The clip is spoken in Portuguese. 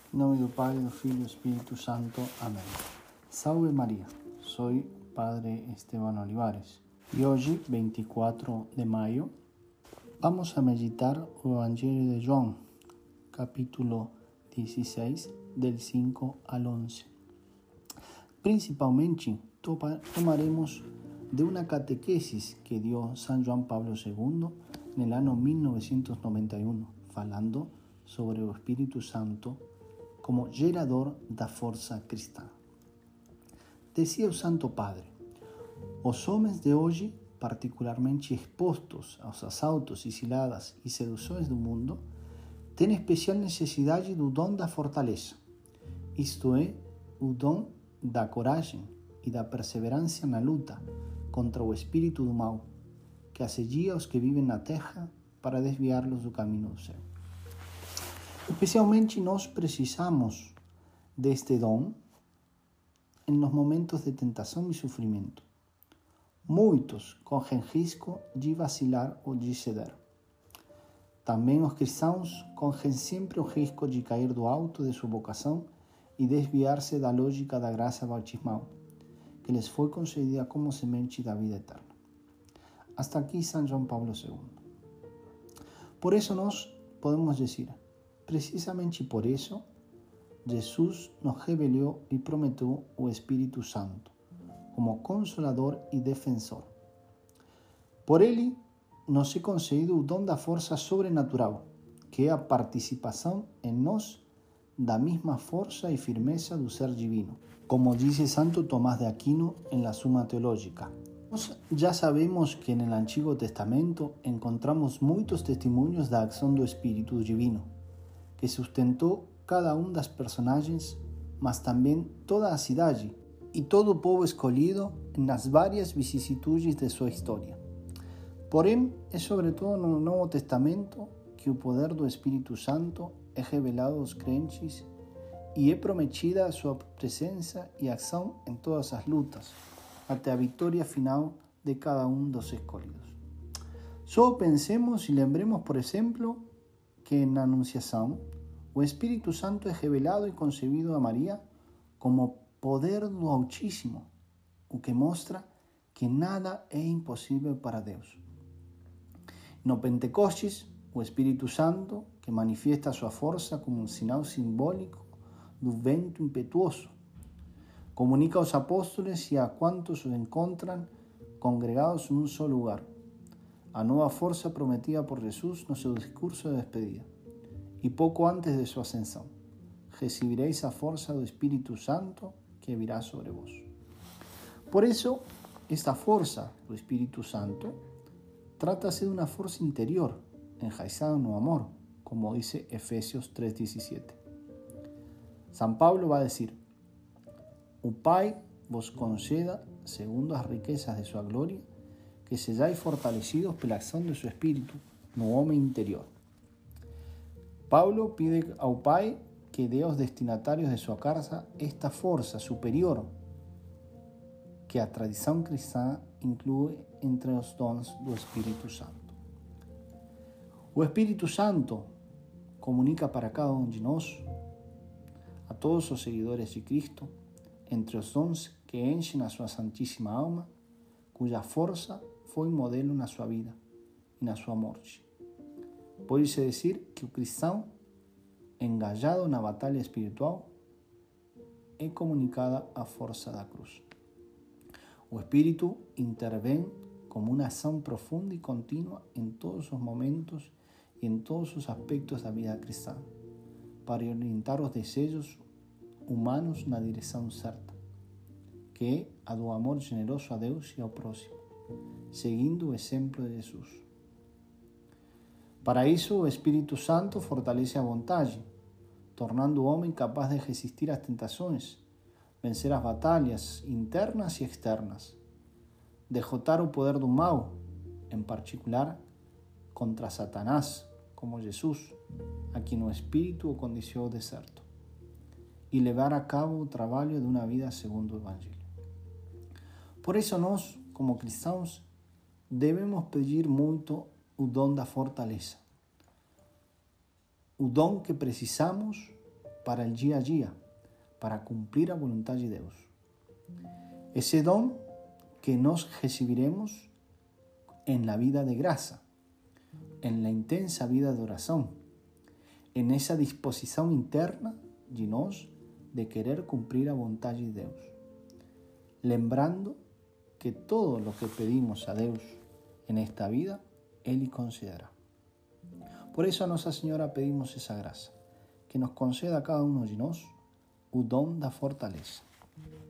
Em nome do Pai, do Filho e do Espírito Santo. Amém. Salve Maria, sou Padre Esteban Olivares e hoje, 24 de maio, vamos a meditar o Evangelho de João, capítulo 16, del 5 al 11. Principalmente, tomaremos de una catequesis que dio San Juan Pablo II en el año 1991, falando sobre o Espírito Santo como gerador da força cristã. Decía o Santo Padre: os homens de hoje, particularmente expostos aos assaltos e ciladas e seduções do mundo, têm especial necessidade do dom da fortaleza, isto é, o dom da coragem e da perseverança na luta contra o espírito do mal, que assedia os que vivem na terra para desviá-los do caminho do céu. Especialmente nós precisamos deste dom em nos momentos de tentação e sofrimento. Muitos correm risco de vacilar ou de ceder. Também os cristãos correm sempre o risco de cair do alto de sua vocação e desviar-se da lógica da graça bautismal, que lhes foi concedida como semente da vida eterna. Hasta aqui São João Paulo II. Por isso nós podemos dizer: precisamente por isso, Jesus nos revelou e prometeu o Espírito Santo como consolador e defensor. Por ele, nos é concedido o dom da força sobrenatural, que é a participação em nós da mesma força e firmeza do ser divino, como dice Santo Tomás de Aquino en la Suma Teológica. Ya sabemos que en el Antiguo Testamento encontramos muitos testemunhos da acção do Espírito Divino, que sustentou cada das personagens, mas também toda a cidade e todo o povo escolhido nas várias vicissitudes de sua história. Porém, é sobretudo no Novo Testamento que o poder do Espírito Santo é revelado aos crentes e é prometida a sua presença e ação em todas as lutas, até a vitória final de cada dos escolhidos. Só pensemos e lembremos, por exemplo, que na Anunciação, o Espírito Santo é revelado e concebido a Maria como poder do Altíssimo, o que mostra que nada é impossível para Deus. No Pentecostes, o Espírito Santo, que manifiesta sua força como sinal simbólico do vento impetuoso, comunica aos apóstolos e a quantos os encontram congregados em só lugar a nova força prometida por Jesus no seu discurso de despedida. E pouco antes de sua ascensão: recebereis a força do Espírito Santo que virá sobre vós. Por isso, esta força do Espírito Santo trata-se de uma força interior, enraizada no amor, como dice Efesios 3:17. São Paulo vai dizer: o Pai vos conceda, segundo as riquezas de sua glória, que sejais fortalecidos pela ação de seu Espírito no homem interior. Paulo pide ao Pai que dê aos destinatários de sua casa esta força superior que a tradição cristã inclui entre os dons do Espírito Santo. O Espírito Santo comunica para cada de nós, a todos os seguidores de Cristo, entre os dons que enchem a sua santíssima alma, cuja força foi modelo na sua vida e na sua morte. Pode-se dizer que o cristão, engajado na batalha espiritual, é comunicada a força da cruz. O Espírito intervém como uma ação profunda e contínua em todos os momentos e em todos os aspectos da vida cristã, para orientar os desejos humanos na direção certa, que é a do amor generoso a Deus e ao próximo, seguindo o exemplo de Jesus. Para isso, o Espírito Santo fortalece a vontade, tornando o homem capaz de resistir às tentações, vencer as batalhas internas e externas, derrotar o poder do mal, em particular contra Satanás, como Jesus, a quem o Espírito o conduziu ao deserto, e levar a cabo o trabalho de uma vida segundo o Evangelho. Por isso nós, como cristãos, devemos pedir muito o dom da fortaleza, o dom que precisamos para o dia a dia, para cumprir a vontade de Deus. Esse dom que nós recibiremos en la vida de graça, en la intensa vida de oração, en essa disposição interna de nós de querer cumprir a vontade de Deus, lembrando que todo lo que pedimos a Deus en esta vida, Ele concederá. Por isso a Nossa Senhora pedimos essa graça, que nos conceda a cada um de nós o dom da fortaleza.